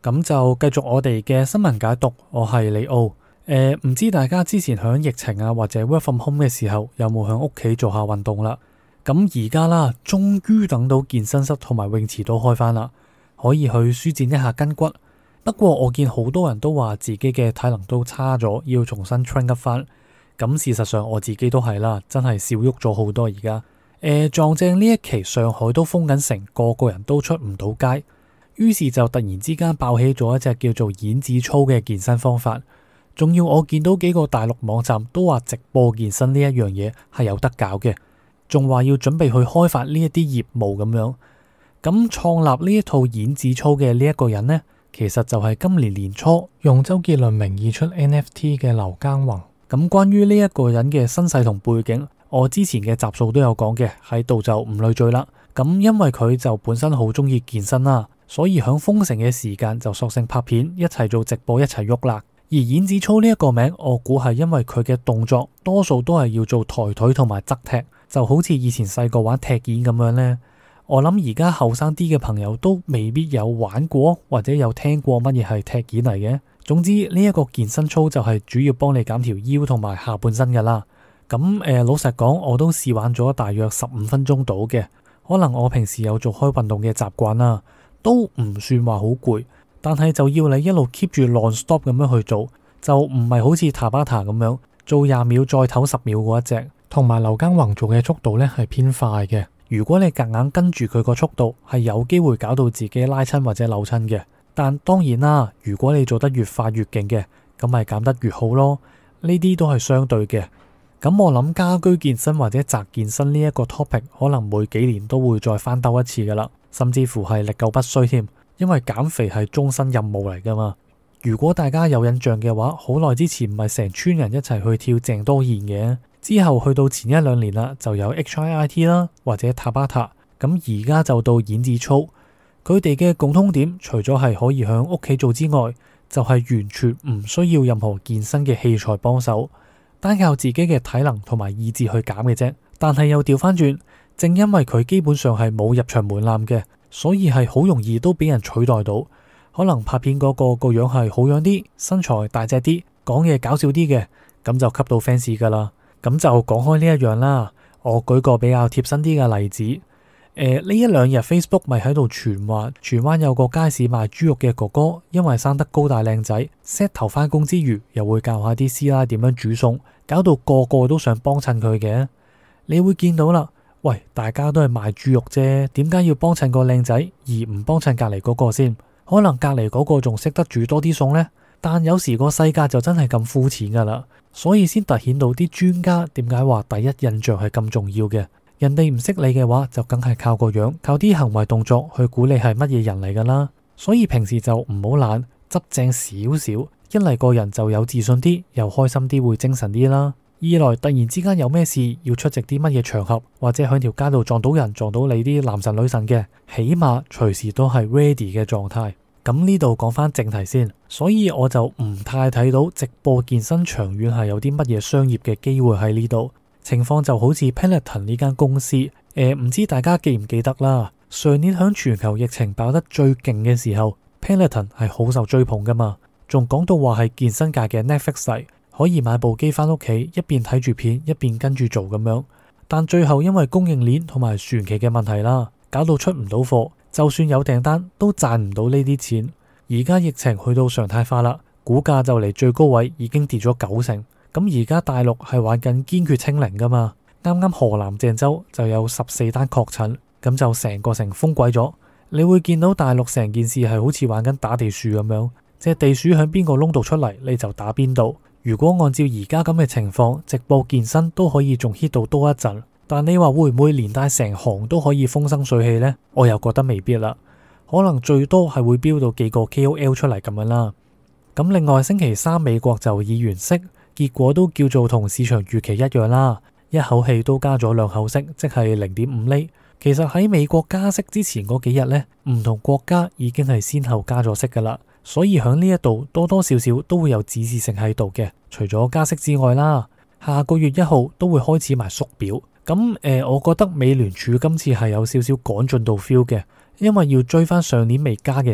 咁就繼續我哋嘅新聞解讀，我係李奧。唔知大家之前響疫情啊或者 work from home 嘅時候有冇響屋企做下運動啦？咁而家啦，終於等到健身室同埋泳池都開返啦，可以去舒展一下筋骨。不過我見好多人都話自己嘅體能都差咗，要重新 train up 返。咁事實上我自己都係啦，真係少喐咗好多而家。撞正呢一期上海都封緊城，個個人都出唔到街。於是就突然之間爆起咗一隻叫做演子操嘅健身方法，仲要我見到幾個大陸網站都話直播健身呢一樣嘢係有得搞嘅，仲話要準備去開發呢一啲業務咁樣。咁創立呢一套演子操嘅呢一個人呢，其實就係今年年初用周杰倫名義出 NFT 嘅劉耕宏。咁關於呢一個人嘅身世同背景，我之前嘅集數都有講嘅，喺度就唔累贅啦。咁因為佢就本身好中意健身啦，所以響封城嘅時間就索性拍片一齊做直播一齊喐啦。而演子操呢一個名，我估係因為佢嘅動作多數都係要做抬腿同埋側踢，就好似以前細個玩踢毽咁樣呢。我諗而家後生啲嘅朋友都未必有玩過或者有聽過乜嘢係踢毽嚟嘅。總之呢一個健身操就係主要幫你減條腰同埋下半身噶啦。咁老實講，我都試玩咗大約15分鐘到嘅。可能我平時有做開運動嘅習慣啦，都唔算話好攰，但係就要你一路 keep 住 non-stop 咁樣去做，就唔係好似塔巴塔咁樣做20秒再唞10秒嗰一隻。同埋劉耕宏做嘅速度呢係偏快嘅，如果你夾硬跟住佢個速度，係有機會搞到自己拉親或者扭親嘅。但當然啦，如果你做得越快越勁嘅，咁咪減得越好咯。呢啲都係相對嘅。咁我諗家居健身或者宅健身呢一個 topic 可能每幾年都會再翻兜一次噶啦，甚至乎係歷久不衰添，因為減肥係終身任務嚟噶嘛。如果大家有印象嘅話，好耐之前唔係成村人一齊去跳鄭多燕嘅，之後去到前1-2年啦，就有 HIIT 啦或者塔巴塔，咁而家就到演子操。佢哋嘅共通點除咗係可以響屋企做之外，就係完全唔需要任何健身嘅器材幫手，單靠自己嘅體能同埋意志去減嘅啫。但係又調翻轉，正因為佢基本上係冇入場門檻嘅，所以係好容易都俾人取代到。可能拍片嗰個樣係好樣啲，身材大隻啲，講嘢搞笑啲嘅，咁就吸到 fans 噶啦。咁就講開呢一樣啦，我舉個比較貼身啲嘅例子。呢1-2日 Facebook 咪喺度傳話，荃灣有個街市賣豬肉嘅哥哥，因為生得高大靚仔 ，set 頭返工之餘，又會教下啲師奶點樣煮餸，搞到個個都想幫襯佢嘅。你會見到啦，喂，大家都係賣豬肉啫，點解要幫襯個靚仔，而唔幫襯隔籬嗰個先？可能隔籬嗰個仲識得煮多啲餸呢，但有時個世界就真係咁膚淺噶啦，所以先凸顯到啲專家點解話第一印象係咁重要嘅。人哋唔識你嘅話，就梗係靠個樣，靠啲行為動作去估你係乜嘢人嚟噶啦。所以平時就唔好懶，執正少少，一嚟個人就有自信啲，又開心啲，會精神啲啦。二來突然之間有咩事要出席啲乜嘢場合，或者喺條街度撞到人，撞到你啲男神女神嘅，起碼隨時都係 ready 嘅狀態。咁呢度講翻正題先，所以我就唔太睇到直播健身長遠係有啲乜嘢商業嘅機會喺呢度。情況就好似 Peloton 呢間公司，唔知大家記唔記得啦？上年響全球疫情爆得最勁嘅時候 ，Peloton 係好受追捧噶嘛，仲講到話係健身界嘅 Netflix 嚟，可以買部機翻屋企，一邊睇住片，一邊跟住做咁樣。但最後因為供應鏈同埋船期嘅問題啦，搞到出唔到貨，就算有訂單都賺唔到呢啲錢。而家疫情去到常態化啦，股價就嚟最高位已經跌咗90%。咁而家大陸係玩緊堅決清零噶嘛，啱啱河南鄭州就有14單確診，咁就成個城封鬼咗。你會見到大陸成件事係好似玩緊打地鼠咁樣，隻地鼠響邊個窿度出嚟你就打邊度。如果按照而家咁嘅情況，直播健身都可以仲 hit 到多一陣，但你話會唔會連帶成行都可以風生水起呢？我又覺得未必啦，可能最多係會飆到幾個 KOL 出嚟咁樣啦。咁另外星期3美國就議員息，結果都叫做同市場預期一樣啦，一口氣都加咗2口息，即係0.5厘。其實喺美國加息之前嗰幾日呢，唔同國家已經係先後加咗息噶啦，所以響呢一度多多少少都會有指示性喺度嘅。除咗加息之外啦，下個月1號都會開始埋縮表。咁我覺得美聯儲今次係有少少趕進度 feel 嘅，因為要追翻上年未加嘅息。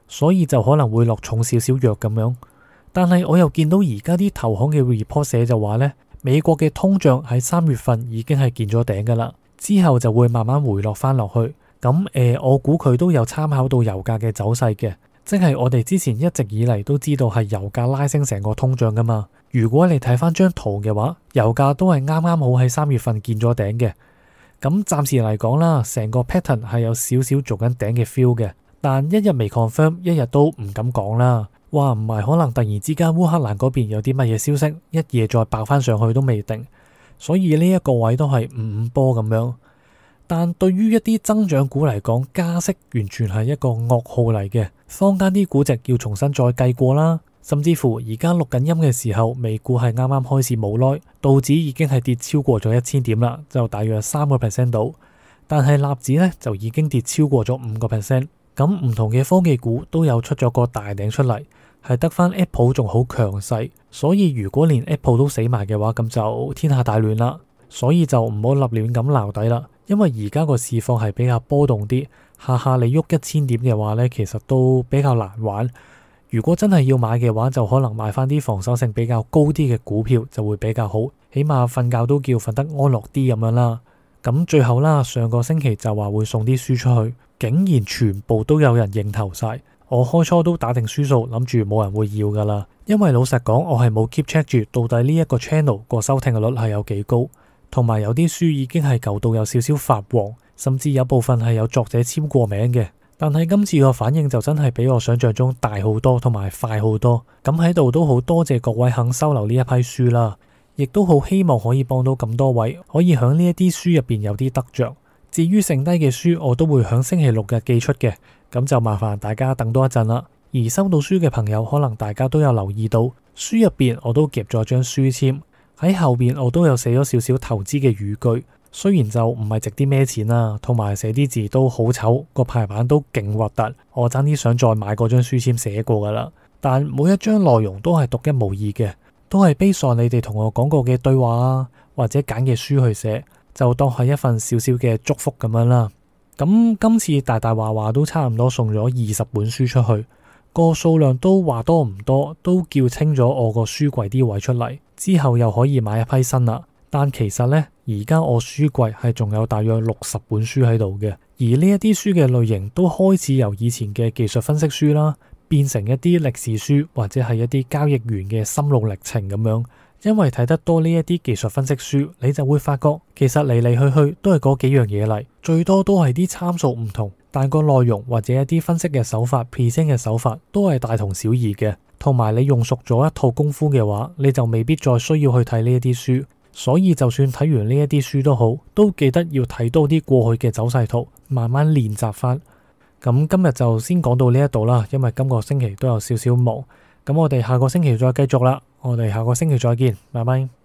所以就可能會落重少少藥咁樣。但係我又見到而家啲投行嘅 report 寫就話呢，美國嘅通脹喺3月份已經係見咗頂噶啦，之後就會慢慢回落翻落去。咁我估佢都有參考到油價嘅走勢嘅，即係我哋之前一直以嚟都知道係油價拉升成個通脹噶嘛。如果你睇翻張圖嘅話，油價都係啱啱好喺3月份見咗頂嘅。咁暫時嚟講啦，成個 pattern 係有少少做緊頂嘅 feel 嘅，但一日未 confirm，一日都唔敢講啦。哇，唔係可能突然之間烏克蘭嗰邊有啲乜嘢消息，一夜再爆翻上去都未定。所以呢一個位都係五五波咁樣。但對於一啲增長股嚟講，加息完全係一個噩耗嚟嘅，坊間啲估值要重新再計過啦。甚至乎而家錄緊音嘅時候，美股係啱啱開始冇耐，道指已經係跌超過咗1000點啦，就大約3% 到。但係納指呢，就已經跌超過咗5%。咁唔同嘅科技股都有出咗個大頂出嚟，係得翻 Apple 仲好強勢。所以如果連 Apple 都死埋嘅話，咁就天下大亂啦。所以就唔好立亂咁撈底啦，因為而家個市況係比較波動啲，下下你喐1000點嘅話呢，其實都比較難玩。如果真係要買嘅話，就可能買翻啲防守性比較高啲嘅股票就會比較好，起碼瞓覺都叫瞓得安樂啲咁樣啦。咁最後啦，上個星期就話會送啲書出去，竟然全部都有人認頭晒。我開初都打定輸數，諗住冇人會要噶啦。因為老實講，我係冇 keep check 住到底呢一個 channel 個收聽率係有幾高，同埋有啲書已經係舊到有少少發黃，甚至有部分係有作者簽過名嘅。但係今次個反應就真係比我想象中大好多，同埋快好多。咁喺度都好多謝各位肯收留呢一批書啦，亦都好希望可以幫到咁多位，可以響呢一啲書入邊有啲得着。至於剩低嘅書，我都會響星期六日寄出嘅，咁就麻煩大家等多一陣啦。而收到書嘅朋友，可能大家都有留意到，書入邊我都夾咗張書籤，喺後邊我都有寫咗少少投資嘅語句。雖然就唔係值啲咩錢啦，同埋寫啲字都好醜，個排版都勁核突，我爭啲想再買嗰張書籤寫過噶啦。但每一張內容都係獨一無二嘅，都係based on你哋同我講過嘅對話啊，或者揀嘅書去寫，就當係一份少少嘅祝福咁樣啦。咁今次大大話話都差唔多送咗20本書出去，個數量都話多唔多，都叫清咗我個書櫃啲位出嚟，之後又可以買一批新啦。但其實呢，而家我書櫃係仲有大約60本書喺度嘅，而呢一啲書嘅類型都開始由以前嘅技術分析書啦，變成一啲歷史書或者係一啲交易員嘅心路歷程咁樣。因為睇得多呢一啲技術分析書，你就會發覺其實嚟嚟去去都係嗰幾樣嘢嚟，最多都係啲參數唔同，但個內容或者一啲分析嘅手法、present 嘅手法都係大同小異嘅。同埋你用熟咗一套功夫嘅話，你就未必再需要去睇呢一啲書。所以就算睇完呢一啲書都好，都記得要睇多啲過去嘅走勢圖，慢慢練習翻。咁今日就先講到呢一度啦，因為今個星期都有少少忙。咁我哋下個星期再繼續啦。我哋下個星期再見，拜拜。